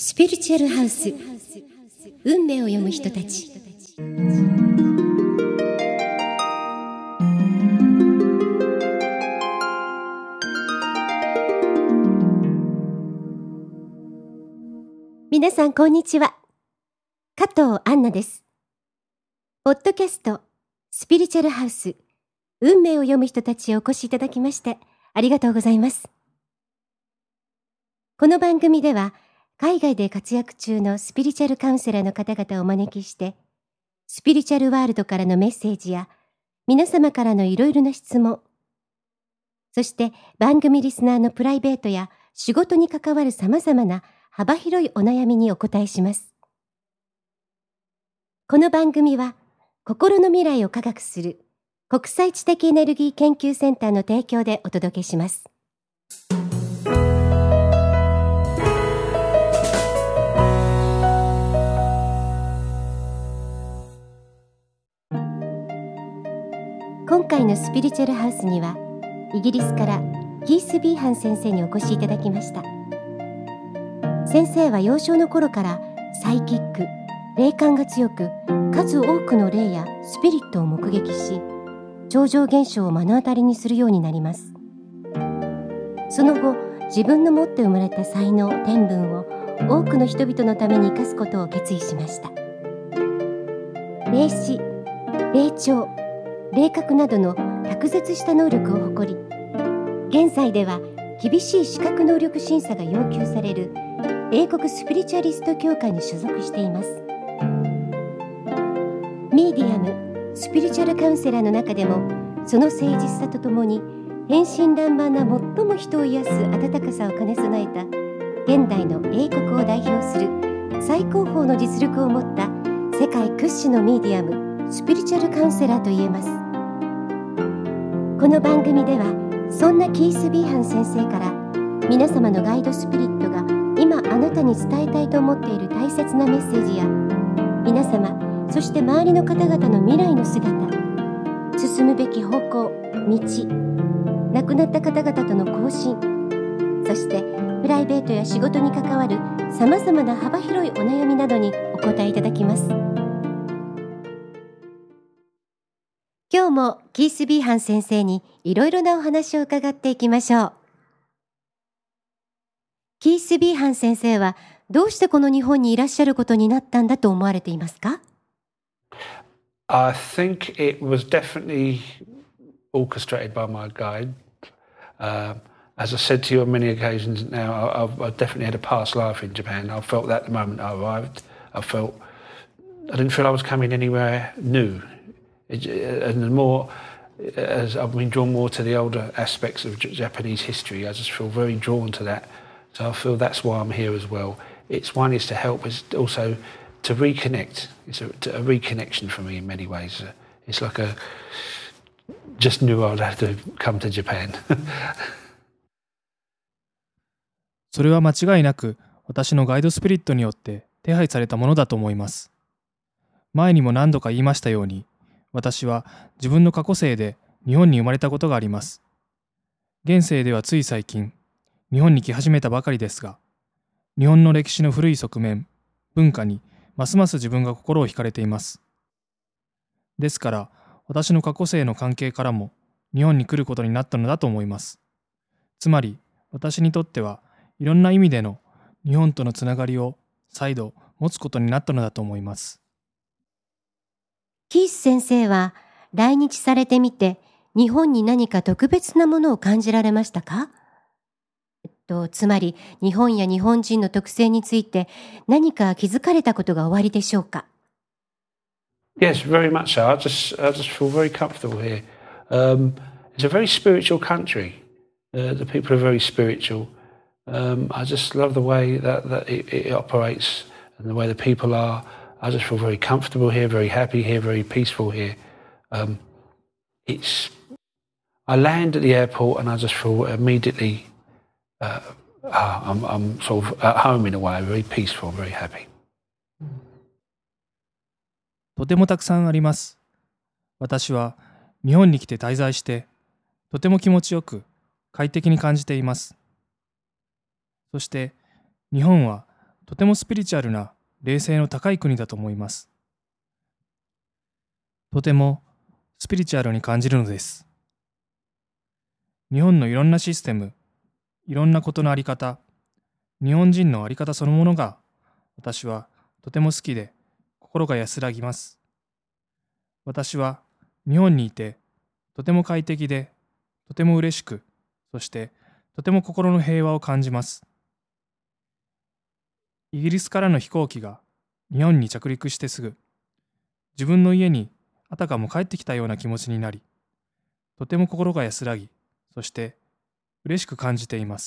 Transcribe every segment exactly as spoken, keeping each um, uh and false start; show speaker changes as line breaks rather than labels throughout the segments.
スピリチュアルハウス、運命を読む人たち。皆さんこんにちは。加藤杏奈です。ポッドキャストスピリチュアルハウス、運命を読む人たちへお越しいただきましてありがとうございます。この番組では海外で活躍中のスピリチュアルカウンセラーの方々をお招きして、スピリチュアルワールドからのメッセージや皆様からのいろいろな質問、そして番組リスナーのプライベートや仕事に関わるさまざまな幅広いお悩みにお答えします。この番組は心の未来を科学する国際知的エネルギー研究センターの提供でお届けします。今回のスピリチュアルハウスにはイギリスからキース・ビーハン先生にお越しいただきました。先生は幼少の頃からサイキック、霊感が強く、数多くの霊やスピリットを目撃し、超常現象を目の当たりにするようになります。その後、自分の持って生まれた才能、天分を多くの人々のために生かすことを決意しました。霊視、霊聴、霊覚などの卓絶した能力を誇り、現在では厳しい資格能力審査が要求される英国スピリチュアリスト協会に所属しています。ミーディアム、スピリチュアルカウンセラーの中でも、その誠実さとともに天真爛漫な最も人を癒す温かさを兼ね備えた現代の英国を代表する最高峰の実力を持った世界屈指のミーディアム、スピリチュアルカウンセラーといえます。この番組ではそんなキース・ビーハン先生から皆様のガイドスピリットが今あなたに伝えたいと思っている大切なメッセージや、皆様そして周りの方々の未来の姿、進むべき方向、道、亡くなった方々との交信、そしてプライベートや仕事に関わるさまざまな幅広いお悩みなどにお答えいただきます。今日もキース・ビーハン先生にいろいろなお話を伺っていきましょう。キース・ビーハン先生はどうしてこの日本にいらっしゃることになったんだと思われていますか？
I think it was definitely orchestrated by my guide. Uh, as I said to you on many occasions now, I've, I've definitely had a past life in Japan. I felt that the moment I arrived. I felt I didn't feel I was coming anywhere new. It, and the more as I've been drawn more to the older aspects of Japanese history, I just feel very drawn to that. So I feel that's why I'm here as well. It's one is to help, is also to reconnect. It's a, a reconnection for me in many ways. It's like a just knew I'd have to come to Japan.
それは間違いなく私のガイドスピリットによって手配されたものだと思います。前にも何度か言いましたように、私は自分の過去世で日本に生まれたことがあります。現世ではつい最近、日本に来始めたばかりですが、日本の歴史の古い側面、文化にますます自分が心を惹かれています。ですから、私の過去世の関係からも日本に来ることになったのだと思います。つまり、私にとってはいろんな意味での日本とのつながりを再度持つことになったのだと思います。
キース先生は来日されてみて、日本に何か特別なものを感じられましたか？えっと、つまり日本や日本人の特性について何か気づかれたことがおありでしょうか？
Yes, very much so. I just, I just feel very comfortable here. Um, it's a very spiritual country. Uh, the people are very spiritual. Um, I just love the way that, that it, it operates and the way the people are. I just feel very comfortable here, very happy here, very peaceful here. Um, it's. I land at the airport and I just feel immediately uh, I'm, I'm sort of at home in a way, very peaceful, very happy.
とてもたくさんあります。私は日本に来て滞在して、とても気持ちよく快適に感じています。そして日本はとてもスピリチュアルな霊性の高い国だと思います。とてもスピリチュアルに感じるのです。日本のいろんなシステム、いろんなことのあり方、日本人のあり方そのものが私はとても好きで心が安らぎます。私は日本にいてとても快適でとても嬉しく、そしてとても心の平和を感じます。イギリスからの飛行機が日本に着陸してすぐ、自分の家にあたかも帰ってきたような気持ちになり、とても心が安らぎ、そして嬉しく感じています。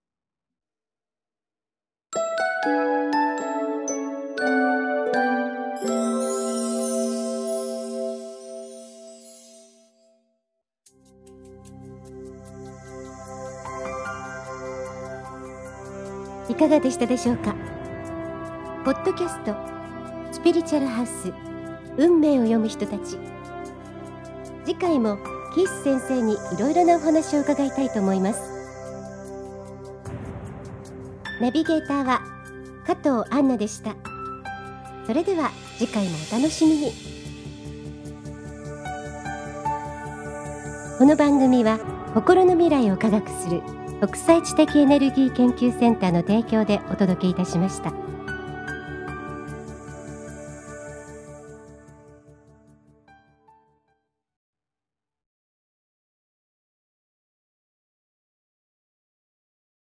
いかがでしたでしょうか。ポッドキャストスピリチュアルハウス運命を読む人たち、次回もキース先生にいろいろなお話を伺いたいと思います。ナビゲーターは加藤杏奈でした。それでは次回もお楽しみに。この番組は心の未来を科学する国際知的エネルギー研究センターの提供でお届けいたしました。